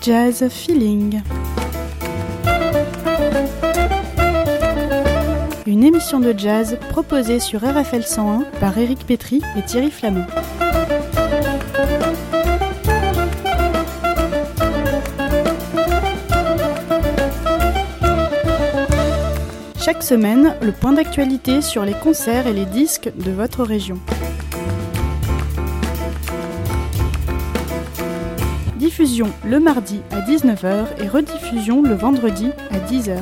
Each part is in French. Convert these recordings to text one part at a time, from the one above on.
Jazz Feeling. Une émission de jazz proposée sur RFL 101 par Éric Pétry et Thierry Flamand. Chaque semaine, le point d'actualité sur les concerts et les disques de votre région. Diffusion le mardi à 19h et rediffusion le vendredi à 10h.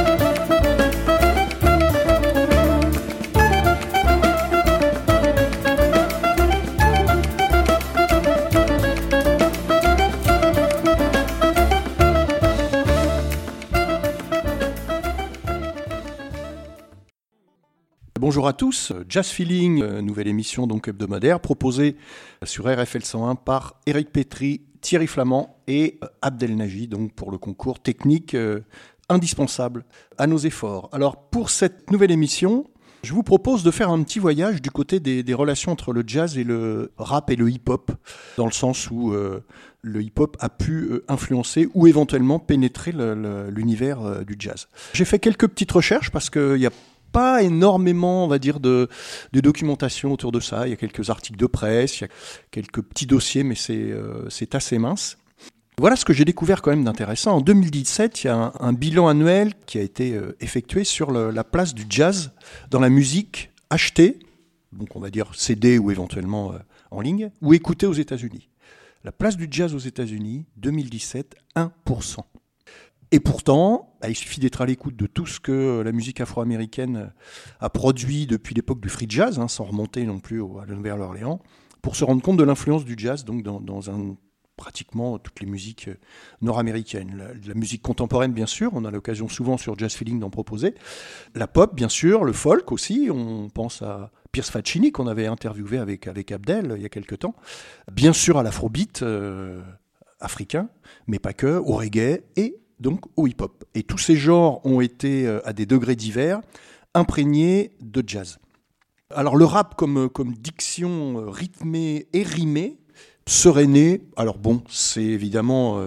Bonjour à tous, Jazz Feeling, nouvelle émission donc hebdomadaire proposée sur RFL 101 par Éric Pétry, Thierry Flamand et Abdelnaji, donc pour le concours technique indispensable à nos efforts. Alors pour cette nouvelle émission, je vous propose de faire un petit voyage du côté des relations entre le jazz et le rap et le hip-hop, dans le sens où le hip-hop a pu influencer ou éventuellement pénétrer l'univers du jazz. J'ai fait quelques petites recherches parce qu'il y a pas énormément, on va dire, de documentation autour de ça. Il y a quelques articles de presse, il y a quelques petits dossiers, mais c'est assez mince. Voilà ce que j'ai découvert quand même d'intéressant. En 2017, il y a un bilan annuel qui a été effectué sur la place du jazz dans la musique achetée, donc on va dire CD ou éventuellement en ligne, ou écoutée aux États-Unis. La place du jazz aux États-Unis, 2017, 1%. Et pourtant, il suffit d'être à l'écoute de tout ce que la musique afro-américaine a produit depuis l'époque du free jazz, sans remonter non plus à la Nouvelle-Orléans, pour se rendre compte de l'influence du jazz donc dans pratiquement toutes les musiques nord-américaines. La musique contemporaine, bien sûr, on a l'occasion souvent sur Jazz Feeling d'en proposer. La pop, bien sûr, le folk aussi, on pense à Piers Faccini qu'on avait interviewé avec Abdel il y a quelques temps. Bien sûr à l'afrobeat africain, mais pas que, au reggae et donc au hip-hop. Et tous ces genres ont été, à des degrés divers, imprégnés de jazz. Alors le rap comme diction rythmée et rimée serait né, alors bon, c'est évidemment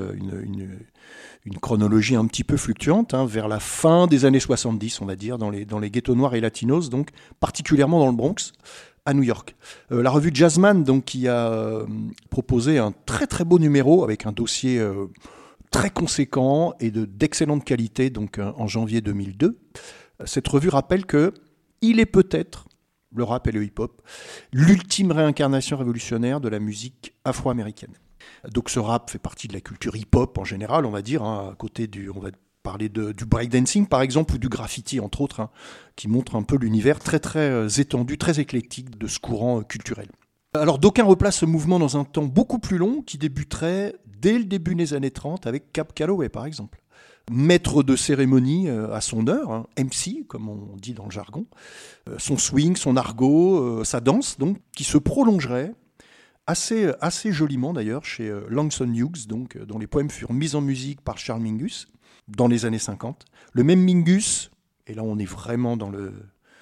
une chronologie un petit peu fluctuante, vers la fin des années 70, on va dire, dans les ghettos noirs et latinos, donc particulièrement dans le Bronx, à New York. La revue Jazzman, donc, qui a proposé un très très beau numéro avec un dossier très conséquent et d'excellente qualité, donc en janvier 2002. Cette revue rappelle que il est peut-être, le rap et le hip-hop, l'ultime réincarnation révolutionnaire de la musique afro-américaine. Donc ce rap fait partie de la culture hip-hop en général, on va dire, à côté on va parler du breakdancing par exemple, ou du graffiti entre autres, qui montre un peu l'univers très très étendu, très éclectique de ce courant culturel. Alors d'aucuns replacent ce mouvement dans un temps beaucoup plus long qui débuterait dès le début des années 30 avec Cab Calloway par exemple. Maître de cérémonie à son heure, MC comme on dit dans le jargon, son swing, son argot, sa danse donc qui se prolongerait assez joliment d'ailleurs chez Langston Hughes, donc, dont les poèmes furent mis en musique par Charles Mingus dans les années 50. Le même Mingus, et là on est vraiment dans le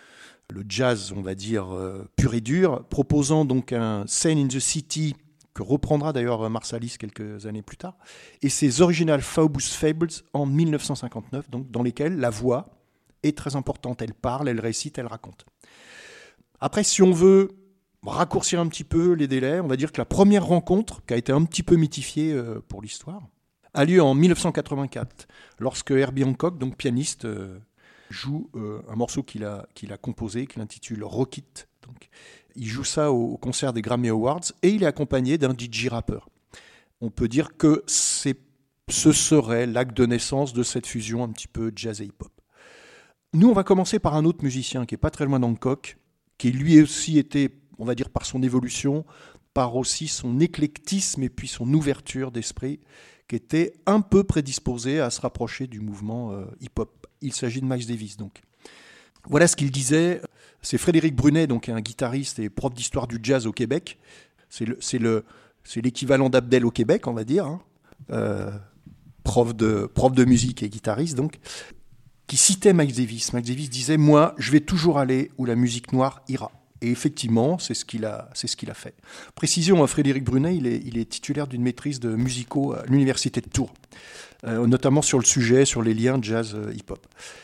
jazz, on va dire, pur et dur, proposant donc un Scene in the City, que reprendra d'ailleurs Marsalis quelques années plus tard, et ses Original Phobos Fables en 1959, donc, dans lesquels la voix est très importante. Elle parle, elle récite, elle raconte. Après, si on veut raccourcir un petit peu les délais, on va dire que la première rencontre, qui a été un petit peu mythifiée pour l'histoire, a lieu en 1984, lorsque Herbie Hancock, donc pianiste, joue un morceau qu'il a composé, qu'il intitule Rock It. Donc, il joue ça au concert des Grammy Awards et il est accompagné d'un DJ rappeur. On peut dire que ce serait l'acte de naissance de cette fusion un petit peu jazz et hip-hop. Nous, on va commencer par un autre musicien qui n'est pas très loin d'Hancock, qui lui aussi était, on va dire, par son évolution, par aussi son éclectisme et puis son ouverture d'esprit, qui était un peu prédisposé à se rapprocher du mouvement hip-hop. Il s'agit de Miles Davis, donc. Voilà ce qu'il disait. C'est Frédéric Brunet, donc un guitariste et prof d'histoire du jazz au Québec. C'est l'équivalent d'Abdel au Québec, on va dire. Prof de musique et guitariste, donc, qui citait Miles Davis. Miles Davis disait « Moi, je vais toujours aller où la musique noire ira ». Et effectivement, c'est ce qu'il a fait. Précision, Frédéric Brunet, il est titulaire d'une maîtrise de musicaux à l'université de Tours, notamment sur le sujet, sur les liens jazz-hip-hop.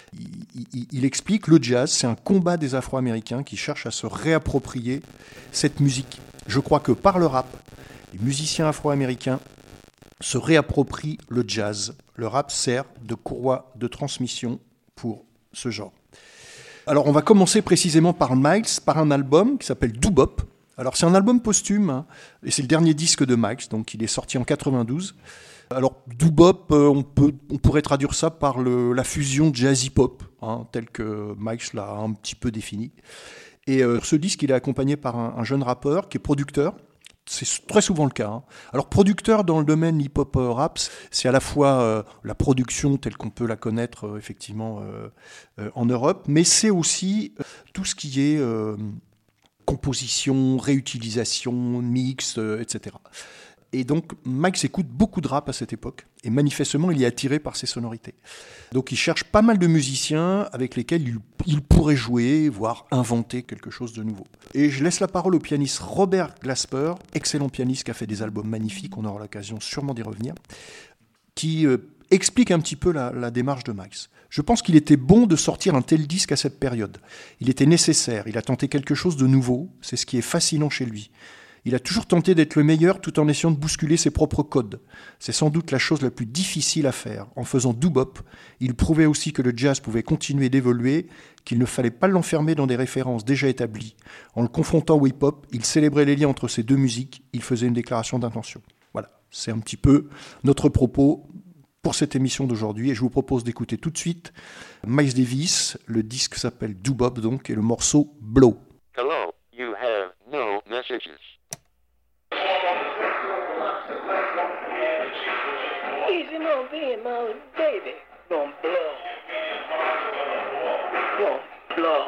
Il explique, le jazz, c'est un combat des Afro-Américains qui cherchent à se réapproprier cette musique. Je crois que par le rap, les musiciens afro-américains se réapproprient le jazz. Le rap sert de courroie de transmission pour ce genre. Alors on va commencer précisément par Miles, par un album qui s'appelle Doo-Bop. Alors c'est un album posthume, hein, et c'est le dernier disque de Miles, donc il est sorti en 92. Alors Doo-Bop, on pourrait traduire ça par la fusion jazz-hip-hop, hein, tel que Miles l'a un petit peu défini. Et ce disque, il est accompagné par un jeune rappeur qui est producteur. C'est très souvent le cas. Hein. Alors, producteur dans le domaine hip-hop rap, c'est à la fois la production telle qu'on peut la connaître effectivement en Europe, mais c'est aussi tout ce qui est composition, réutilisation, mix, etc. Et donc, Miles écoute beaucoup de rap à cette époque, et manifestement, il est attiré par ces sonorités. Donc, il cherche pas mal de musiciens avec lesquels il pourrait jouer, voire inventer quelque chose de nouveau. Et je laisse la parole au pianiste Robert Glasper, excellent pianiste qui a fait des albums magnifiques, on aura l'occasion sûrement d'y revenir, qui explique un petit peu la démarche de Miles. Je pense qu'il était bon de sortir un tel disque à cette période. Il était nécessaire, il a tenté quelque chose de nouveau, c'est ce qui est fascinant chez lui. Il a toujours tenté d'être le meilleur tout en essayant de bousculer ses propres codes. C'est sans doute la chose la plus difficile à faire. En faisant doo-bop, il prouvait aussi que le jazz pouvait continuer d'évoluer, qu'il ne fallait pas l'enfermer dans des références déjà établies. En le confrontant au hip-hop, il célébrait les liens entre ces deux musiques, il faisait une déclaration d'intention. Voilà, c'est un petit peu notre propos pour cette émission d'aujourd'hui, et je vous propose d'écouter tout de suite Miles Davis. Le disque s'appelle Doo-Bop donc, et le morceau Blow. Hello, you have no messages. Easy on being my baby. Gonna blow. Gonna blow.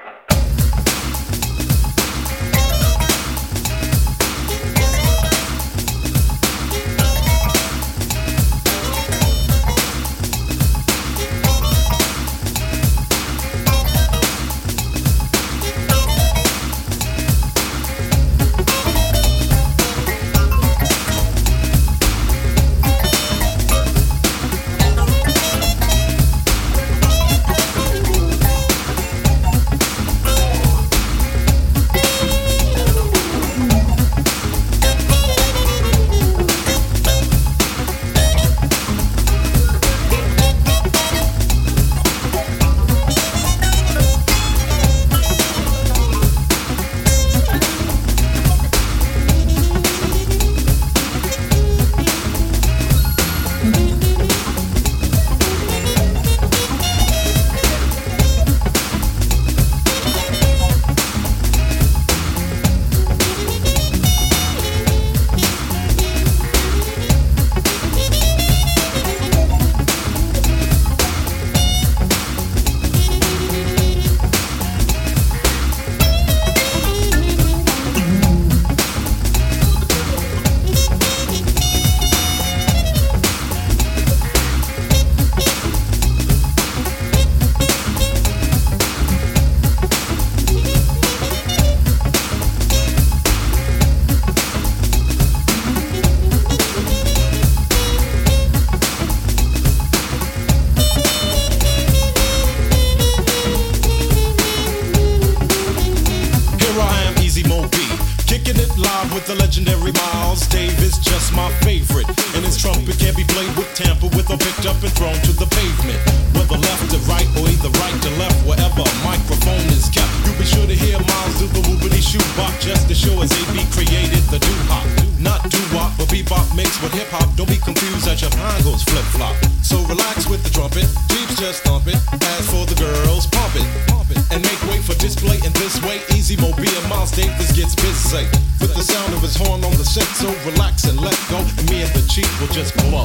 The legendary Miles Davis, just my favorite. And his trumpet can't be played with, tampered with, or picked up and thrown to the pavement. Whether left to right or either right to left, wherever a microphone is kept, you'll be sure to hear Miles do the whoopity shoot-bop, just as sure as AB created the doo-hop. Not doo-wop, but bebop mixed with hip-hop. Don't be confused as your mind goes flip-flop. So relax with the trumpet, Jeeps just thump it. As for the girls, pump it, and make way for display in this way. Easy Mobile, Miles Davis gets busy with the sound of his horn on the set, so relax and let go, and me and the Chief will just blow.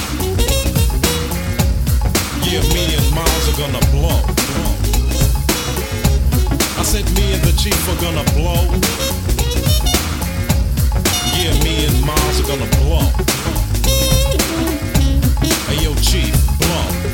Yeah, me and Miles are gonna blow. I said me and the Chief are gonna blow. Yeah, me and Miles are gonna blow. Hey yo, Chief, blow.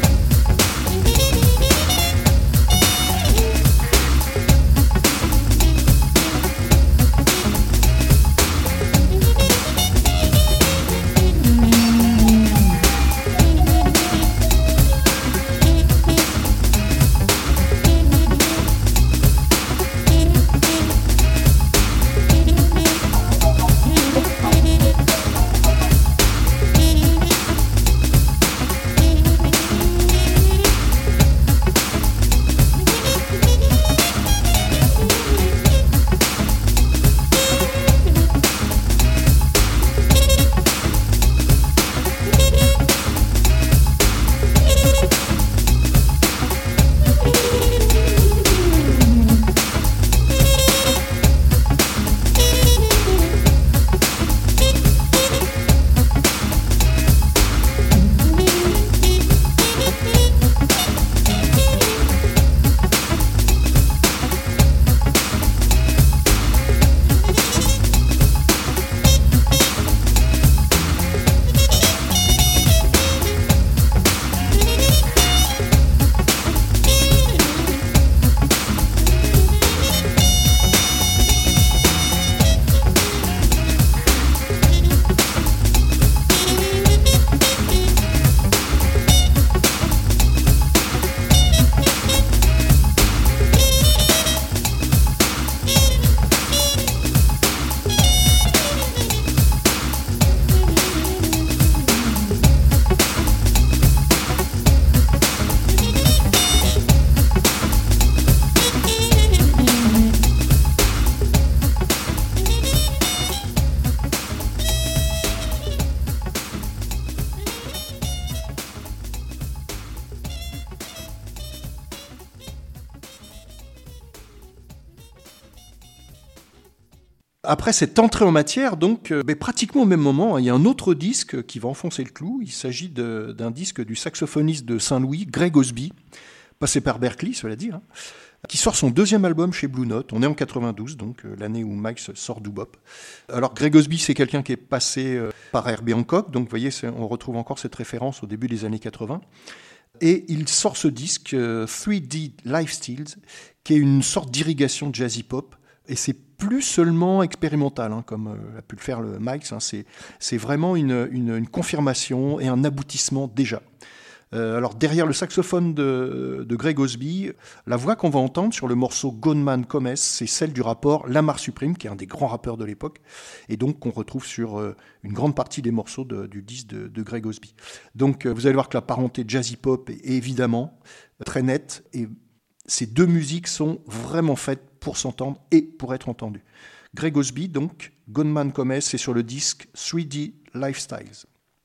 après cette entrée en matière, donc, pratiquement au même moment, il y a un autre disque qui va enfoncer le clou. Il s'agit d'un disque du saxophoniste de Saint-Louis, Greg Osby, passé par Berkeley, cela dit, hein, qui sort son deuxième album chez Blue Note. On est en 92, donc l'année où Miles sort Doobop. Alors Greg Osby, c'est quelqu'un qui est passé par Herbie Hancock, donc vous voyez, on retrouve encore cette référence au début des années 80. Et il sort ce disque 3D Lifestyles, qui est une sorte d'irrigation jazzy pop. Et c'est plus seulement expérimental, hein, comme a pu le faire le Miles. Hein, c'est vraiment une confirmation et un aboutissement déjà. Alors derrière le saxophone de Greg Osby, la voix qu'on va entendre sur le morceau Gone Man Come, c'est celle du rappeur Lamar Supreme, qui est un des grands rappeurs de l'époque, et donc qu'on retrouve sur une grande partie des morceaux du disque de Greg Osby. Donc vous allez voir que la parenté jazzy pop est évidemment très nette, et ces deux musiques sont vraiment faites pour s'entendre et pour être entendues. Greg Osby, donc, Gone Man Come, c'est sur le disque 3D Lifestyles.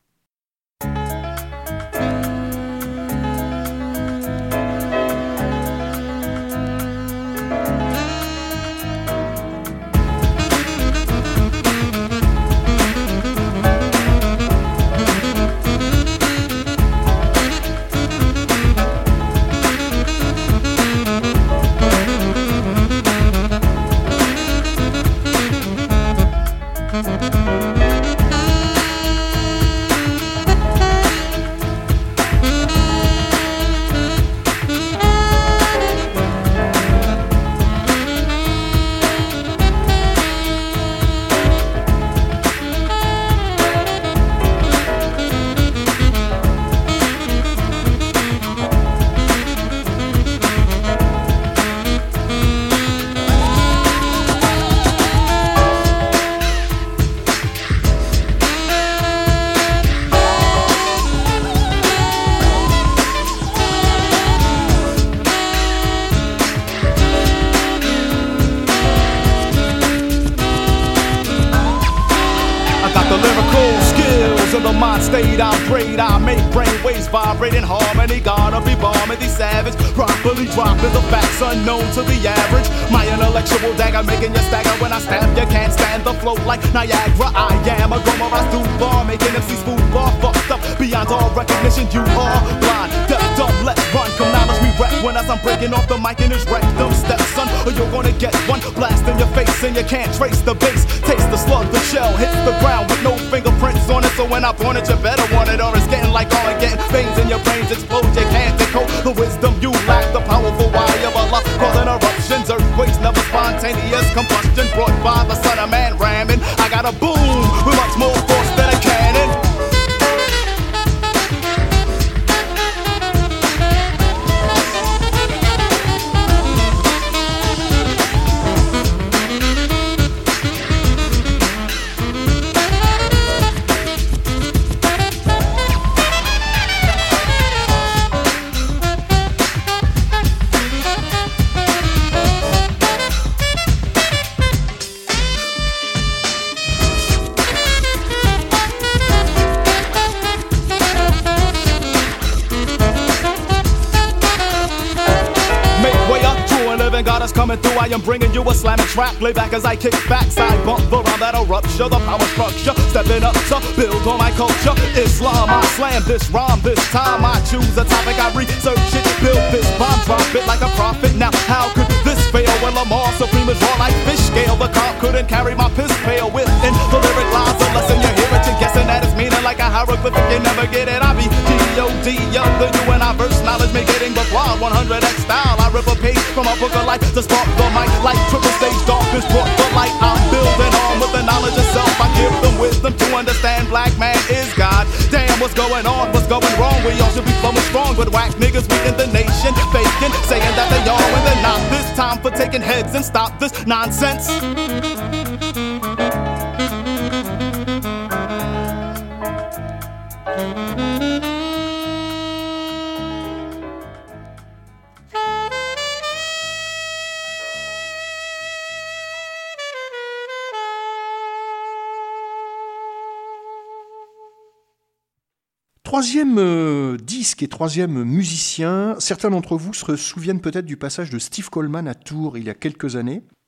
Vibrating harmony, gotta be bombing these savage. Properly dropping the facts unknown to the average. My intellectual dagger making you stagger when I stab. You can't stand the flow like Niagara. I am a Gomorrah bar, making MCs food bar fucked up beyond all recognition. You are blind, deaf, dumb, let's run. Come knowledge me rap when as I'm breaking off the mic and it's wreck them steps, son, or you're gonna get one blast in your face and you can't trace the bass. Taste the slug, the shell hits the ground with no fingerprints on it. So when I point it, you better want it, or it's getting like Armageddon. Veins in your brains explode, you can't decode the wisdom you lack. The powerful wire of Allah causing eruptions, earthquakes, never spontaneous combustion brought by the son of man ramming. I got a boom with much more force than a cannon. Coming through, I am bringing you a slamming trap. Lay back as I kick back, side bump around that'll rupture the power structure. Stepping up to build on my culture. Islam, I slam this rhyme. This time I choose a topic, I research it, build this bomb, drop it like a prophet. Now how could this fail when Lamar Supreme is raw like fish scale? The cop couldn't carry my piss pail within the lyric lies. A lesson you hear it, you're guessing that it's meaning like a hieroglyphic. You never get it. I be G-O-D, the U and I verse knowledge me getting but wild 100X style. I rip a page from a book of life to spark the mic like triple stage darkness brought the light. I'm building on with the knowledge of self. I give them wisdom to understand black man is God. Damn, what's going on? What's going wrong? We all should be flowing strong, but whack niggas we in the nation faking, saying that they are when they're not. This time for taking heads and stop this nonsense. Troisième disque et troisième musicien, certains d'entre vous se souviennent peut-être du passage de Steve Coleman à Tours il y a quelques années.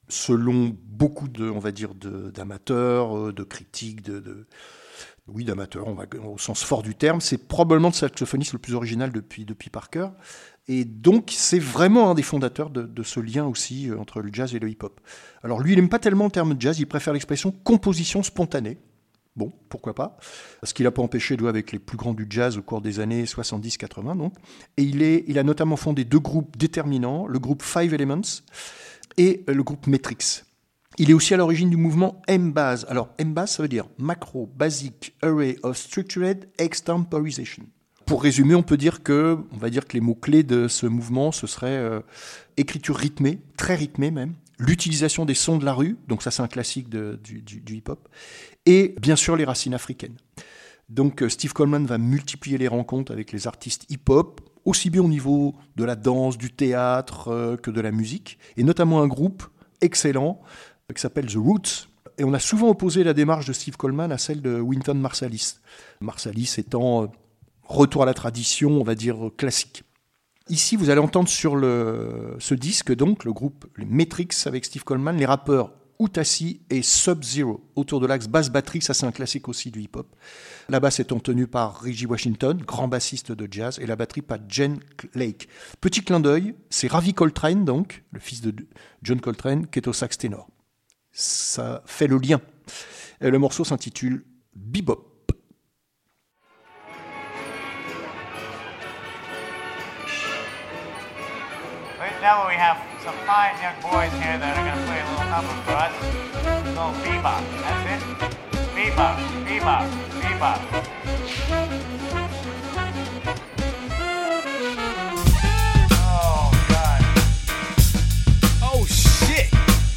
selon beaucoup d'amateurs, de critiques, d'amateurs, au sens fort du terme, c'est probablement le saxophoniste le plus original depuis Parker. Et donc, c'est vraiment un des fondateurs de ce lien aussi entre le jazz et le hip-hop. Alors lui, il n'aime pas tellement le terme jazz, il préfère l'expression composition spontanée. Bon, pourquoi pas. Ce qui l'a pas empêché de jouer avec les plus grands du jazz au cours des années 70-80. Donc. Et il a notamment fondé 2 groupes déterminants, le groupe Five Elements et le groupe Metrix. Il est aussi à l'origine du mouvement M-Baz. Alors, M-Baz, ça veut dire Macro Basic Array of Structured Extemporization. Pour résumer, on va dire que les mots-clés de ce mouvement, ce serait écriture rythmée, très rythmée même, l'utilisation des sons de la rue, donc ça c'est un classique du hip-hop, et bien sûr les racines africaines. Donc Steve Coleman va multiplier les rencontres avec les artistes hip-hop, aussi bien au niveau de la danse, du théâtre que de la musique, et notamment un groupe excellent qui s'appelle The Roots. Et on a souvent opposé la démarche de Steve Coleman à celle de Wynton Marsalis. Marsalis étant retour à la tradition, on va dire, classique. Ici, vous allez entendre sur ce disque, donc, le groupe les Metrix avec Steve Coleman, les rappeurs Outassi et Sub-Zero, autour de l'axe basse-batterie, ça c'est un classique aussi du hip-hop. La basse étant tenue par Reggie Washington, grand bassiste de jazz, et la batterie par Jen Lake. Petit clin d'œil, c'est Ravi Coltrane, donc, le fils de John Coltrane, qui est au sax ténor. Ça fait le lien. Et le morceau s'intitule Bebop. Now we have some fine young boys here that are going to play a little number for us. A little bebop. That's it. Bebop, bebop, bebop. Oh, God. Oh, shit.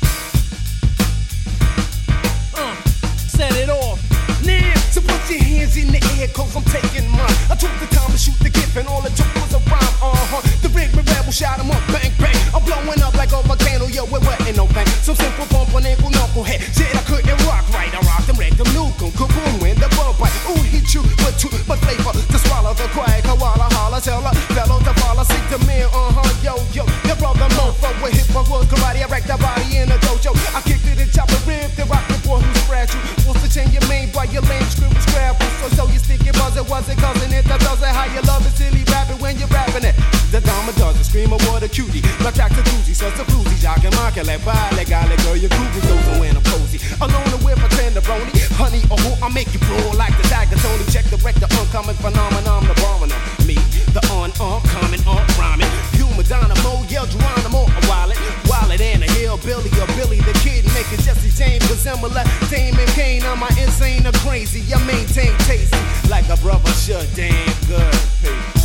Set it off. Now, so put your hands in the air, cause I'm taking mine. I took the time to shoot the gift and all it took was a rhyme. The rig me rebel shot 'em up, bang, bang. I'm blowing up like a volcano, yo, we're wetting no bang. Some simple bump on ankle, knucklehead. Shit, I couldn't rock right. I rocked them, wrecked them, nuke 'em, kaboom, when the bug bite. Ooh, hit you, but too much flavor to swallow the quiet. Koala, holla, tell a fellow to follow, seek the man, yo, your brother mofo with hip hop was karate. I wrecked that body in a dojo. I kicked it and chopped the rib, the rock the boy who's fragile. What's the chain you made by your lame scribble scrabble? So you stick it, was it cousin it, that does it. How you love it, silly rapping when you're rapping it. The dama does it, scream a what a cutie. My track to doozy, such a floozy, jock and mock, like bye, like girl, your groovy goes on when I'm posy. Alone and with my tenderoni, honey, I make you roll like the dagger, Tony. Check the wreck, the uncommon phenomenon, the bombing on me, the coming, rhyming. Human dynamo, yell Geronimo, a wallet and a hillbilly, a Billy the Kid, making Jesse James a similar Damon Kane. I'm my insane or crazy, I maintain tasty, like a brother should, damn good. Peace.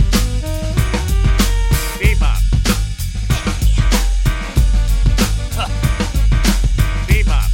Bebop. Bebop.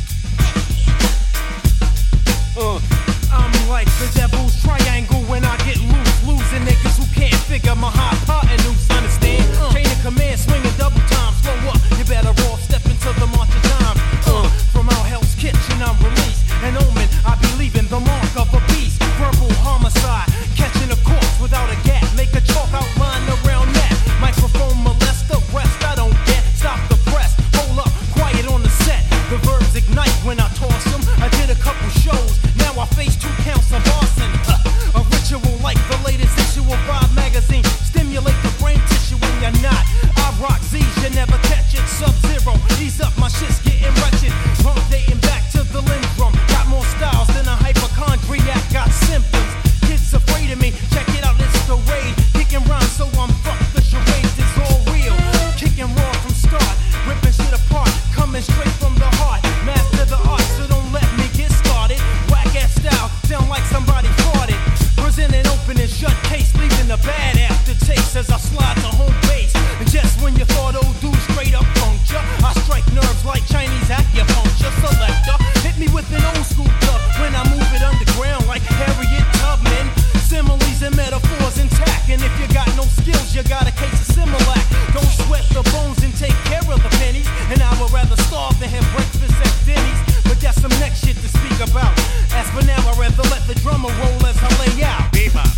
I'm like the devil's triangle when I get loose, losing niggas who can't figure my hypotenuse. Understand? Chain of command, swinging double time. Slow up, you better off step into the march of time. From our Hell's Kitchen, I'm released. An omen, I be leaving the mark of a beast. Verbal homicide, catching a corpse without a gap. Make a chalk outline around that. Microphone molest the rest, I don't get. Stop the press, hold up, quiet on the set. The verbs ignite when I toss them. I did a couple shows, now I face 2 counts of arson. A ritual like the latest issue of Vibe magazine. Stimulate the brain tissue when you're not. I rock Z's, you never catch it. Sub-Zero, ease up, my shit's getting wretched. Pump dating back to the Lindrum. Got more styles than a hypochondriac, got symptoms. Kids afraid of me, check it out, it's the raid. Kicking rhymes, so I'm fucked, the charades is all real. Kicking raw from start, ripping shit apart, coming straight from the heart. Master the art, so don't let me get started. Whack ass style, sound like somebody farted. Presenting open and shut case, leaving a bad aftertaste as I slide to home base. And just when you thought old dude straight up puncture, I strike nerves like Chinese acupuncture. Selector, hit me with an old school club when I move it underground like Harriet Tubman. Similes and metaphors intact, and if you got no skills, you got a case of Similac. Don't sweat the bones and take care of the pennies. And I would rather starve than have breakfast at Denny's. But that's some next shit to speak about. As for now, I'd rather let the drummer roll as I lay out. Bebop.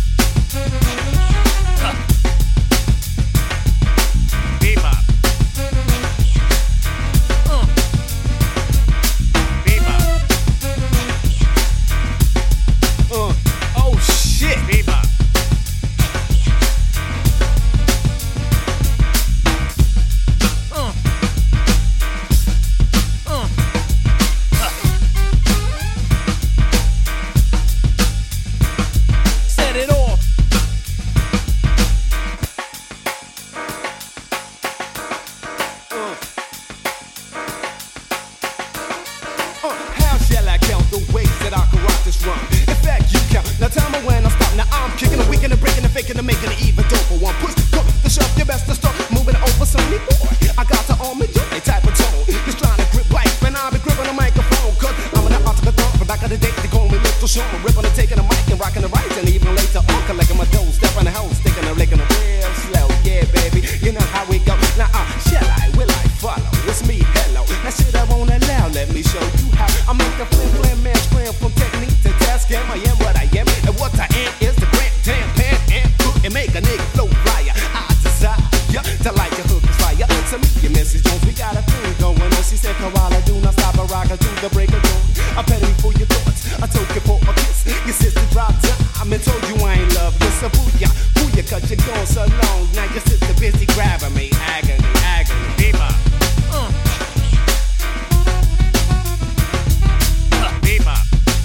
Bebop. until the break of dawn. I petted me for your thoughts, I took you for a kiss. Your sister dropped time and told you I ain't love you. So booyah, cause you're gone so long. Now your sister busy grabbing me, agony, bebop. Bebop.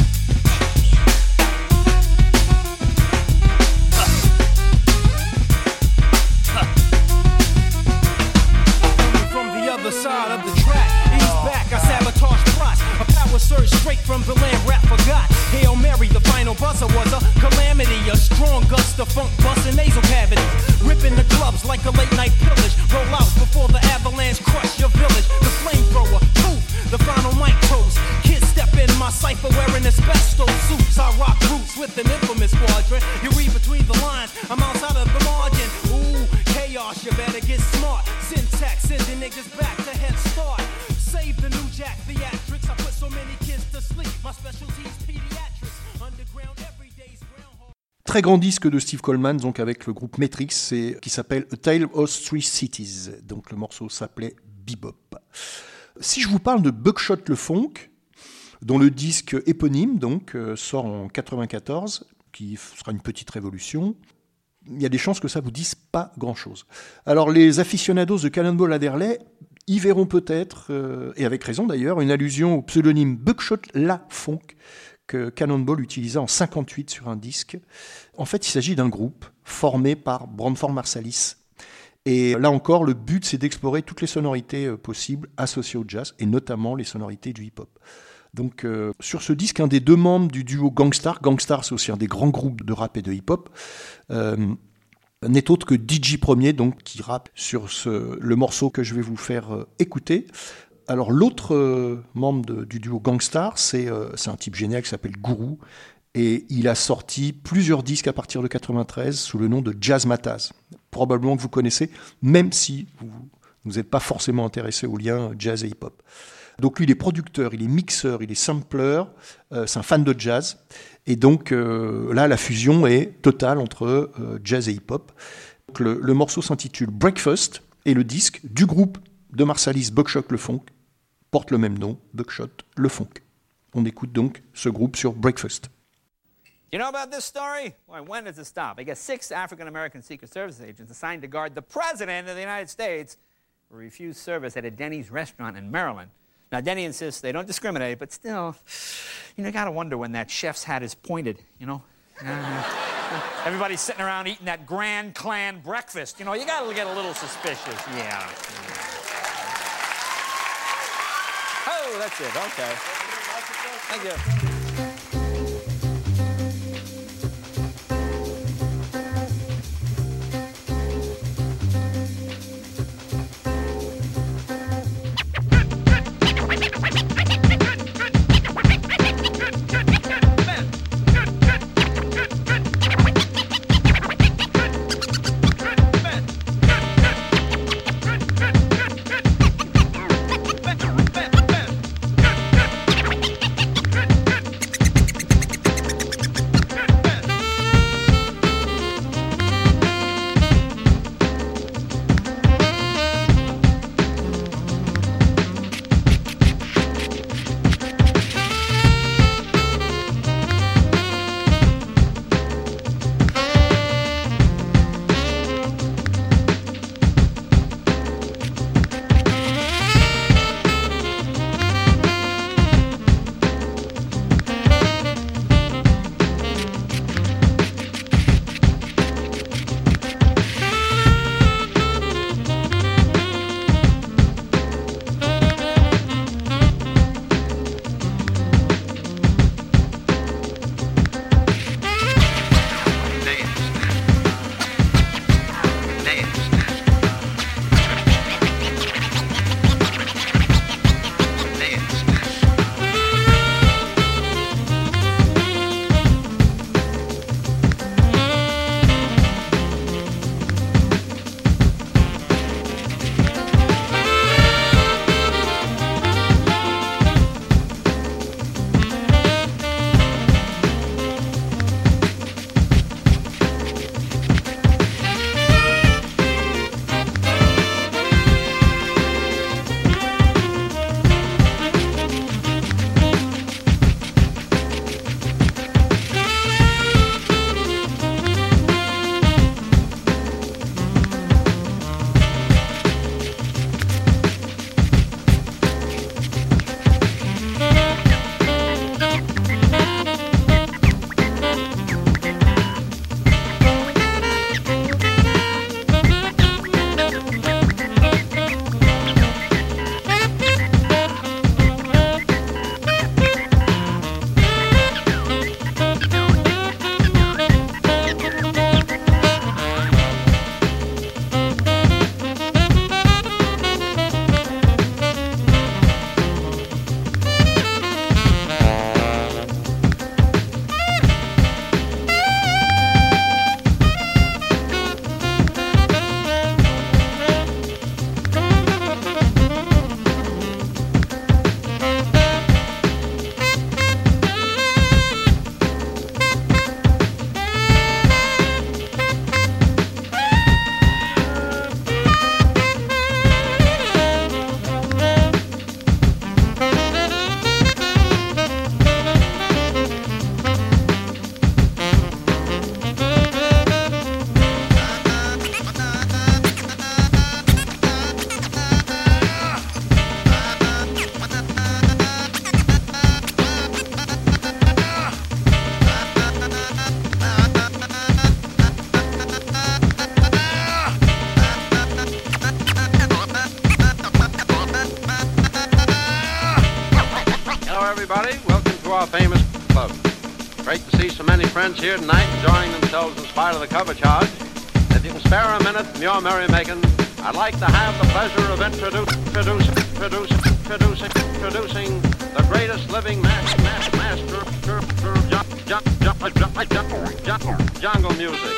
From the other side of the track, he's back, I sabotage plots. A power surge straight from the land rap forgot. Hail Mary, the final buzzer was a calamity. A strong gust of funk busting nasal cavity. Ripping the clubs like a late night pillage. Roll out before the avalanche crush your village. The flamethrower, poof, the final mic toast. Kids step in my cipher wearing asbestos suits. I rock roots with an infamous quadrant. You read between the lines, I'm outside of the margin. Ooh, chaos, you better get smart. Syntax, sending niggas back to head start. Save the new jack theatrics. I put so many kids to sleep. My specialty's pediatrics. Underground everyday's groundhog. Très grand disque de Steve Coleman, donc avec le groupe Matrix, qui s'appelle A Tale of Three Cities. Donc le morceau s'appelait Bebop. Si je vous parle de Buckshot le Funk, dont le disque éponyme donc sort en 94, qui sera une petite révolution, il y a des chances que ça vous dise pas grand-chose. Alors les aficionados de Cannonball Adderley y verront peut-être, et avec raison d'ailleurs, une allusion au pseudonyme Buckshot la Funk que Cannonball utilisa en 58 sur un disque. En fait, il s'agit d'un groupe formé par Branford Marsalis. Et là encore, le but, c'est d'explorer toutes les sonorités possibles associées au jazz, et notamment les sonorités du hip-hop. Donc, sur ce disque, un des deux membres du duo Gangstar, c'est aussi un des grands groupes de rap et de hip-hop, n'est autre que DJ Premier, donc, qui rappe sur le morceau que je vais vous faire écouter. Alors, l'autre membre du duo Gangstar, c'est un type génial qui s'appelle Guru, et il a sorti plusieurs disques à partir de 93 sous le nom de Jazzmatazz. Probablement que vous connaissez, même si vous n'êtes pas forcément intéressé au lien jazz et hip-hop. Donc lui, il est producteur, il est mixeur, il est sampler, c'est un fan de jazz. Et donc là, la fusion est totale entre jazz et hip-hop. Donc, le morceau s'intitule Breakfast, et le disque du groupe de Marsalis Buckshot le Funk porte le même nom, Buckshot le Funk. On écoute donc ce groupe sur Breakfast. You know about this story? Why, when does it stop? I guess 6 African-American Secret Service agents assigned to guard the President of the United States were refused service at a Denny's restaurant in Maryland. Now, Denny insists they don't discriminate, but still, you gotta wonder when that chef's hat is pointed, you know? Everybody's sitting around eating that Grand Clan breakfast. You gotta get a little suspicious. Yeah. Oh, that's it. Okay. Thank you. our famous club. Great to see so many friends here tonight enjoying themselves in spite of the cover charge. If you can spare a minute from your merrymaking, I'd like to have the pleasure of introducing the greatest living master jungle music.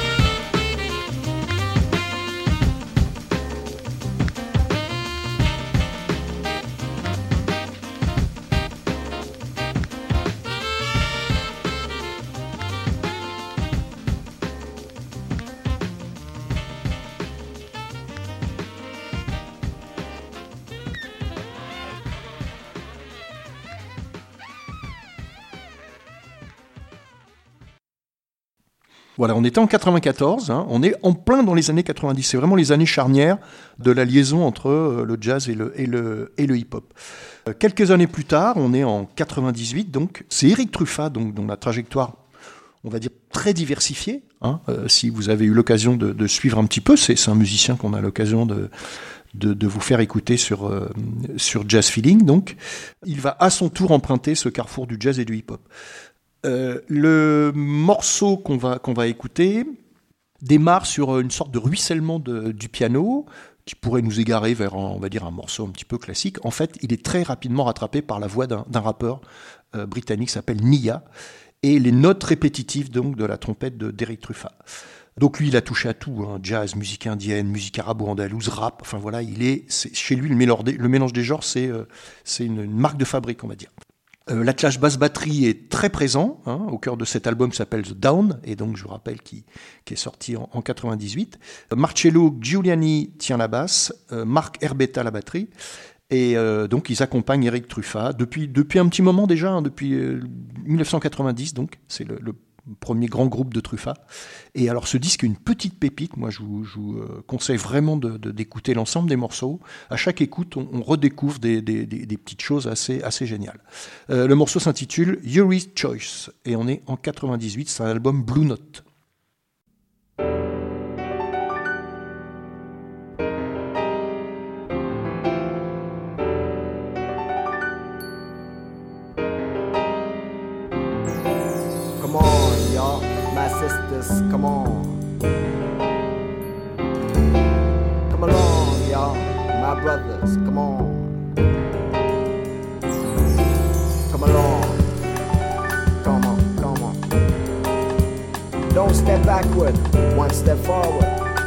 Voilà, on était en 94, hein, on est en plein dans les années 90. C'est vraiment les années charnières de la liaison entre le jazz et le hip-hop. Quelques années plus tard, on est en 98, donc c'est Eric Truffat, donc, dont la trajectoire, on va dire, très diversifiée. Hein, si vous avez eu l'occasion de suivre un petit peu, c'est un musicien qu'on a l'occasion de vous faire écouter sur Jazz Feeling. Donc, il va à son tour emprunter ce carrefour du jazz et du hip-hop. Le morceau qu'on va écouter démarre sur une sorte de ruissellement du piano qui pourrait nous égarer vers on va dire un morceau un petit peu classique. En fait, il est très rapidement rattrapé par la voix d'un rappeur britannique qui s'appelle Nia et les notes répétitives donc de la trompette d'Eric Truffat. Donc lui, il a touché à tout, hein, jazz, musique indienne, musique arabo-andalouse, rap. Enfin voilà, c'est chez lui le mélange des genres, c'est une marque de fabrique, on va dire. L'attelage basse-batterie est très présent, hein, au cœur de cet album qui s'appelle The Down, et donc je vous rappelle qui est sorti en 98. Marcello Giuliani tient la basse, Marc Herbetta la batterie, et donc ils accompagnent Eric Truffat depuis un petit moment déjà, hein, depuis 1990, donc c'est le premier grand groupe de Truffat. Et alors ce disque est une petite pépite, moi je vous conseille vraiment d'écouter l'ensemble des morceaux. À chaque écoute, on redécouvre des petites choses assez géniales. Le morceau s'intitule Yuri's Choice, et on est en 98, c'est un album Blue Note. Sisters, come on. Come along, y'all, my brothers, come on. Come along. Come on. Don't step backward, one step forward.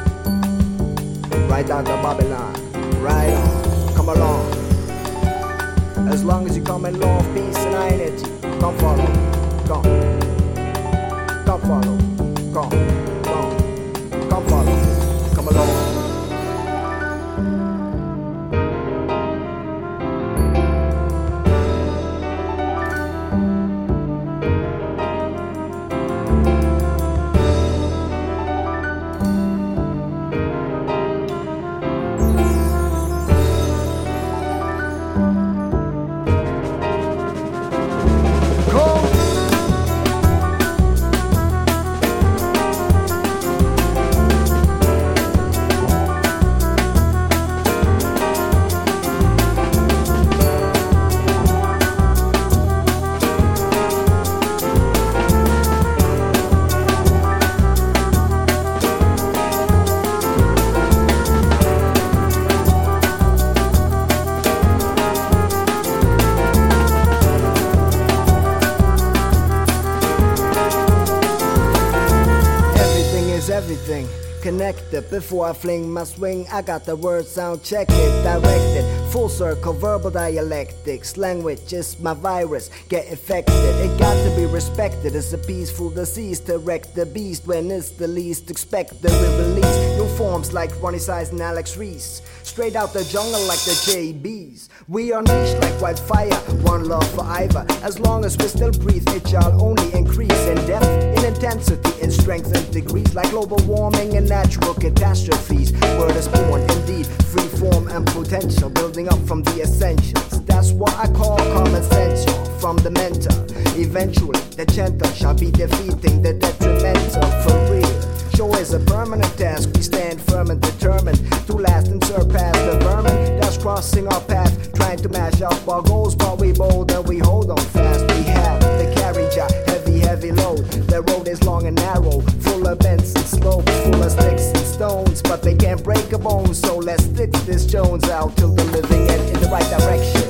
Right down to Babylon, right on. Come along. As long as you come in love, peace and unity, come follow, come. Come follow, come follow, come along. Everything connected. Before I fling my swing, I got the word sound check it, directed. Full circle, verbal dialectics. Language is my virus, get infected. It got to be respected. It's a peaceful disease to wreck the beast when it's the least expected. We release new forms like Ronnie Size and Alex Reese. Straight out the jungle like the JBs. We unleash like wildfire, one love forever. As long as we still breathe, it shall only increase in depth, in intensity, in strength and degrees. Like global warming and natural catastrophes. Word is born, indeed, free form and potential. Building up from the essentials. That's what I call common sense, from the mental. Eventually, the gentle shall be defeating the detrimental for real. Show is a permanent task. We stand firm and determined to last and surpass the vermin that's crossing our path, trying to mash up our goals, but we bold and we hold on fast. We have danger, heavy load. The road is long and narrow, full of bends and slopes, full of sticks and stones, but they can't break a bone. So let's stick this Jones out till the living end in the right direction.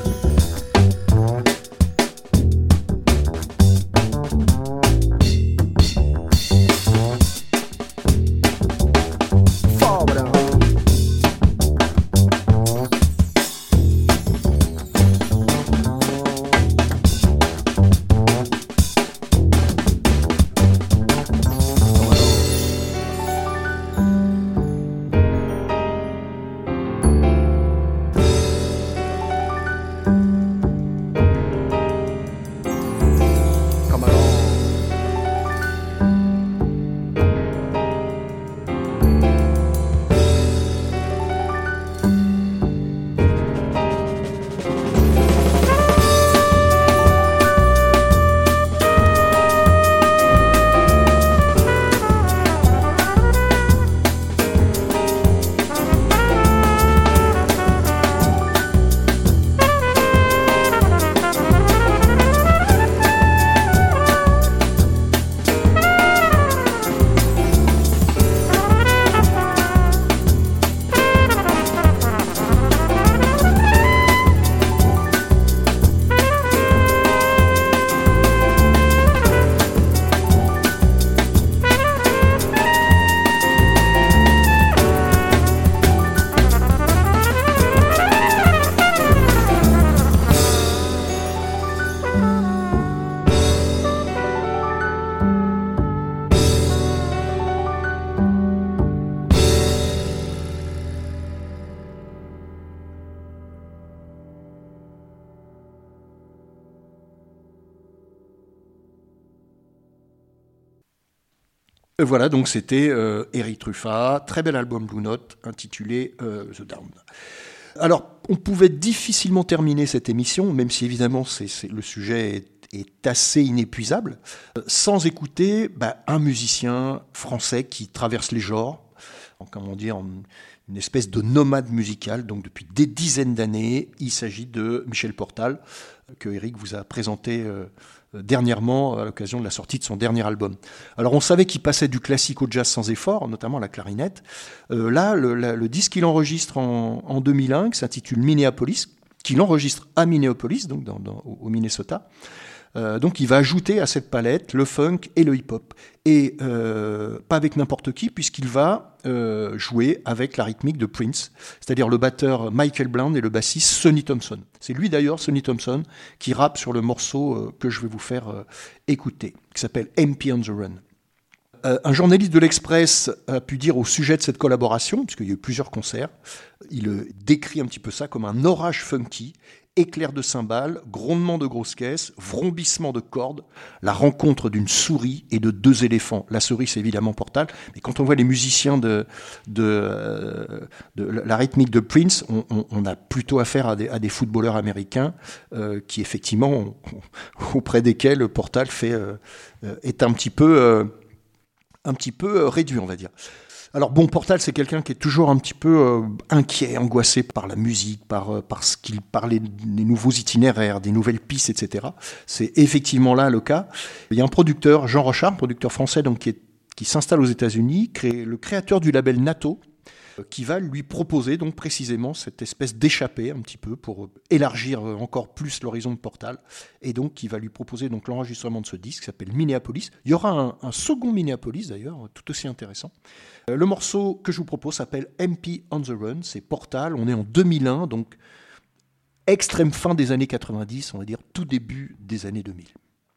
Voilà, donc c'était Eric Truffat, très bel album Blue Note, intitulé The Down. Alors, on pouvait difficilement terminer cette émission, même si évidemment le sujet est assez inépuisable, sans écouter un musicien français qui traverse les genres, comment dire, une espèce de nomade musical. Donc depuis des dizaines d'années, il s'agit de Michel Portal, que Eric vous a présenté dernièrement à l'occasion de la sortie de son dernier album. Alors on savait qu'il passait du classique au jazz sans effort, notamment la clarinette. Là, le disque qu'il enregistre en 2001, qui s'intitule Minneapolis, qu'il enregistre à Minneapolis, donc au Minnesota. Donc il va ajouter à cette palette le funk et le hip-hop. Et pas avec n'importe qui, puisqu'il va jouer avec la rythmique de Prince, c'est-à-dire le batteur Michael Bland et le bassiste Sonny Thompson. C'est lui d'ailleurs, Sonny Thompson, qui rappe sur le morceau que je vais vous faire écouter, qui s'appelle MP on the Run. Un journaliste de l'Express a pu dire au sujet de cette collaboration, puisqu'il y a eu plusieurs concerts, il décrit un petit peu ça comme un orage funky, éclairs de cymbales, grondements de grosses caisses, vrombissements de cordes, la rencontre d'une souris et de deux éléphants. La souris, c'est évidemment Portal, mais quand on voit les musiciens de la rythmique de Prince, on a plutôt affaire à des footballeurs américains qui, effectivement, auprès desquels Portal est un petit peu réduit, on va dire. Alors bon, Portal, c'est quelqu'un qui est toujours un petit peu inquiet, angoissé par la musique, par ce qu'il parlait des nouveaux itinéraires, des nouvelles pistes, etc. C'est effectivement là le cas. Il y a un producteur, Jean Rochard, producteur français, donc qui s'installe aux États-Unis, le créateur du label NATO, qui va lui proposer donc précisément cette espèce d'échappée un petit peu pour élargir encore plus l'horizon de Portal, et donc qui va lui proposer donc l'enregistrement de ce disque qui s'appelle Minneapolis. Il y aura un second Minneapolis d'ailleurs, tout aussi intéressant. Le morceau que je vous propose s'appelle MP on the Run, c'est Portal, on est en 2001, donc extrême fin des années 90, on va dire tout début des années 2000.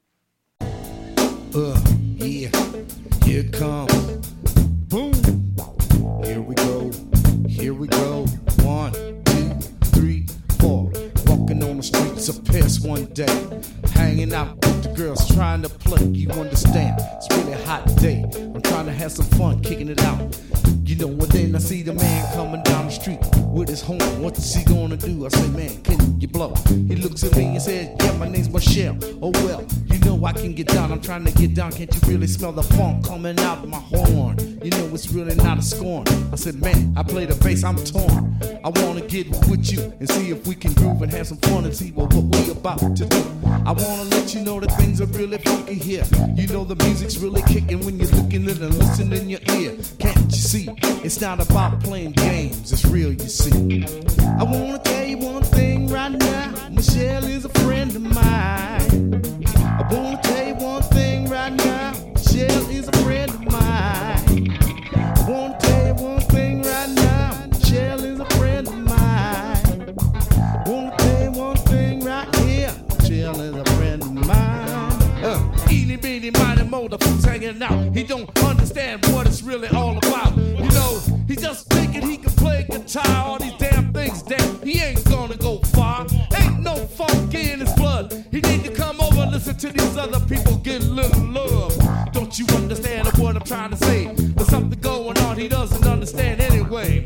Yeah, here it comes. Boom. Here we go. 1, 2, 3, 4. Walking on the streets of Paris one day, hanging out with the girls, trying to play. You understand? It's really a hot day. I'm trying to have some fun, kicking it out. You know what? Then I see the man coming down the street with his horn. What's he gonna do? I say, man, can you blow? He looks at me and says, yeah, my name's Michelle. Oh well, you know I can get down. I'm trying to get down. Can't you really smell the funk coming out of my horn? You know it's really not a scorn. I said, man, I play the bass, I'm torn. I wanna get with you and see if we can groove and have some fun and see what we about to do. I wanna let you know that things are really funky here. You know the music's really kicking when you're looking at and listening in your ear. Can't you see? It's not about playing games, it's real, you see. I wanna tell you one thing right now. Michelle is a friend of mine. I wanna tell you one thing right now. Michelle is a friend of mine. I wanna tell you one thing right now. Michelle is a friend of mine. I wanna tell you one thing right here. Michelle is a friend of mine. Eeny, beeny, miny, mo, the folks hanging out. He don't understand what it's really all about. You know, he's just thinking he can play guitar. All these damn things, damn, he ain't gonna go far. Ain't no funk in his blood. He need to come over and listen to these other people get a little love. Don't you understand what I'm trying to say? There's something going on he doesn't understand anyway.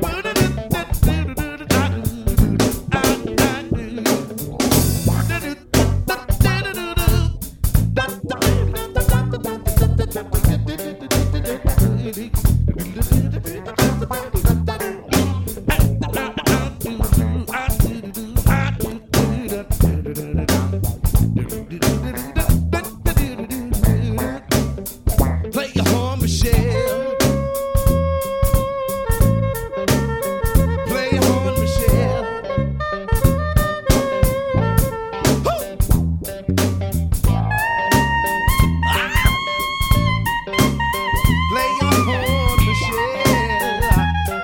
Play your horn, Michelle. Play your horn, Michelle. Play your horn, Michelle.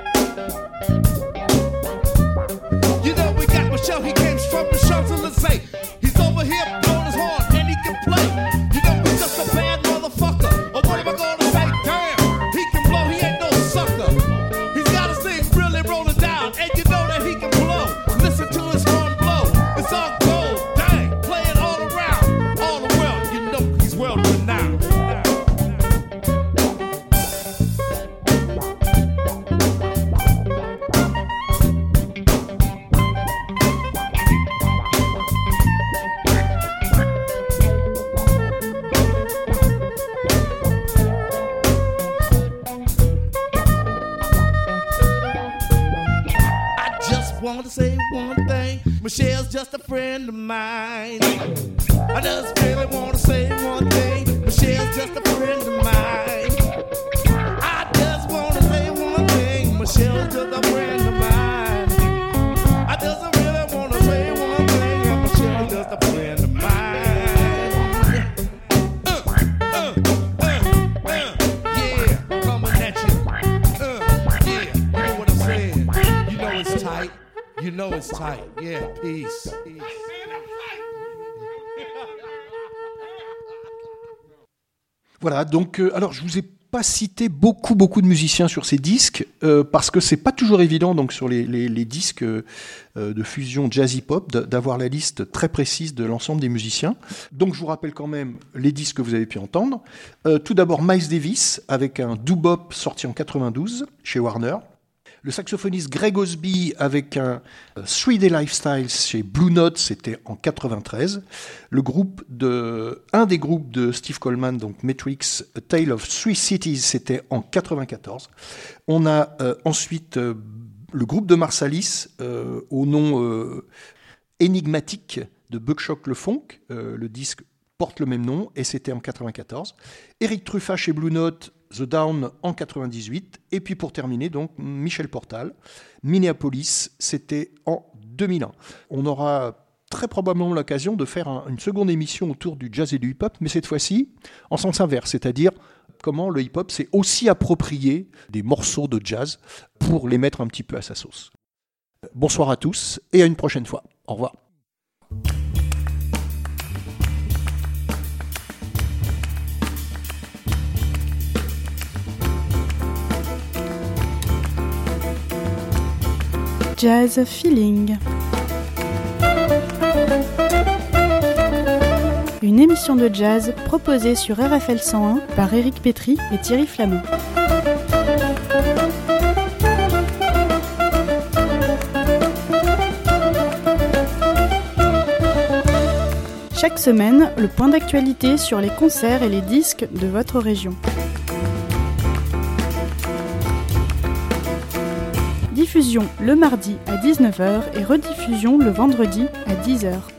You know we got Michelle. He came from the Champs-Élysées. He's over here blowing his horn and he can play. You know he's just a bad motherfucker. Or what am I gonna say? Damn, he can blow. He ain't no sucker. He's gotta sing really rolling down, and you know that he can blow. Listen to his horn blow. It's all gold. Dang, play it all around, all the world. You know he's world renowned. I just want to say one thing. Michelle's just a friend of mine. I just really want to say one thing. Michelle's just a friend of mine. I just want to say one thing. Michelle's just a friend of mine. I just really want to say one thing. Michelle's just a friend of mine. Yeah, coming at you. Yeah, you know what I'm saying. You know it's tight. You know it's tight. Yeah, peace. Voilà, donc alors je vous ai pas cité beaucoup de musiciens sur ces disques parce que c'est pas toujours évident donc sur les disques de fusion jazz hip-hop d'avoir la liste très précise de l'ensemble des musiciens. Donc je vous rappelle quand même les disques que vous avez pu entendre. Tout d'abord Miles Davis avec un doo-bop sorti en 92 chez Warner. Le saxophoniste Greg Osby avec un 3-Day Lifestyle chez Blue Note, c'était en 93. Un des groupes de Steve Coleman, donc Matrix, A Tale of Three Cities, c'était en 94. On a ensuite le groupe de Marsalis au nom énigmatique de Buckshot Le Funk. Le disque porte le même nom et c'était en 94. Eric Truffat chez Blue Note, The Down en 98, et puis pour terminer, donc Michel Portal, Minneapolis, c'était en 2001. On aura très probablement l'occasion de faire une seconde émission autour du jazz et du hip-hop, mais cette fois-ci en sens inverse, c'est-à-dire comment le hip-hop s'est aussi approprié des morceaux de jazz pour les mettre un petit peu à sa sauce. Bonsoir à tous et à une prochaine fois. Au revoir. Jazz Feeling. Une émission de jazz proposée sur RFL 101 par Éric Pétry et Thierry Flamand. Chaque semaine, le point d'actualité sur les concerts et les disques de votre région. Diffusion le mardi à 19h et rediffusion le vendredi à 10h.